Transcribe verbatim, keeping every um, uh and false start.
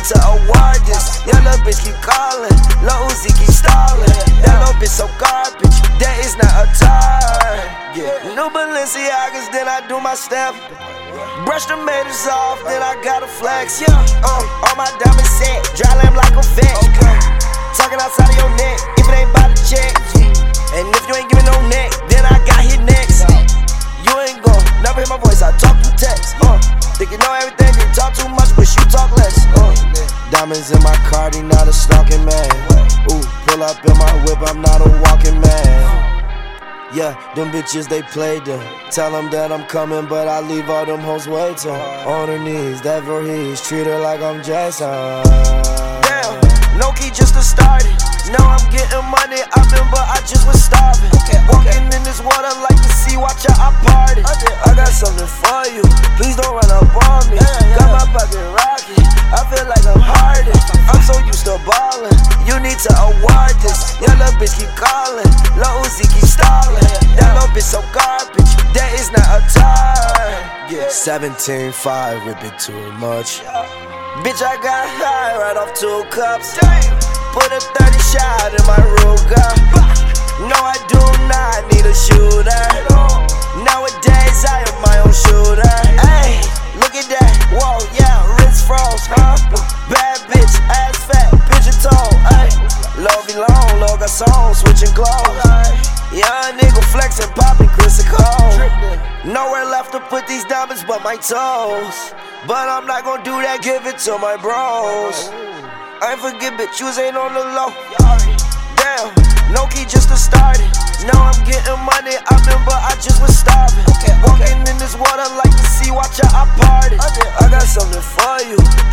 need to award this. Your little bitch keep calling, Lil Uzi keep stalling. That little bitch so garbage, that is not a target. New Balenciagas, then I do my step. Brush the haters off, then I gotta flex. Yeah, uh, all my diamonds set, dry lamb like a vet. Okay. Talking outside of your neck, if it ain't by the check. And if you ain't giving no neck, then I got hit next. You ain't gon' never hear my voice, I talk through text. Uh, think you know everything, you talk too much, but you talk less. Uh, diamonds in my Cardi, not a stalking man. Ooh, pull up in my whip, I'm not a walking man. Yeah, them bitches, they played them. Tell them that I'm coming, but I leave all them hoes waiting. On her knees, that Voorhees, treat her like I'm Jason. Damn, no key just to start it. Now I'm getting money, I've been, but I just was starving. Okay, walking in this water like the sea, watch out, I party. I got something for you, please don't run up on me. Got my pocket rocket, I feel like I'm hardened. I'm so used to ballin', you need to award this. Your little bitch keep calling, Lil Uzi keep stalling. That little bitch so garbage, that is not a target. seventeen five, whip it too much. Bitch, I got high right off two cups. Put a thirty shot in my Ruger. No, I do not need a shooter. Nowadays, I am my own shooter. Hey, look at that. Whoa, yeah, wrist froze, huh? Bad bitch, ass fat, pigeon toe. Hey, love be long, love got songs, switching clothes. Young nigga flexing, popping Chris and Cole. Nowhere left to put these diamonds but my toes. But I'm not gonna do that, give it to my bros. I ain't forget, bitch, you ain't on the low. Damn, no key just to start it. Now I'm getting money, I've been, but I just was starving. Walking in this water like the sea, watch out, I party. I got something for you,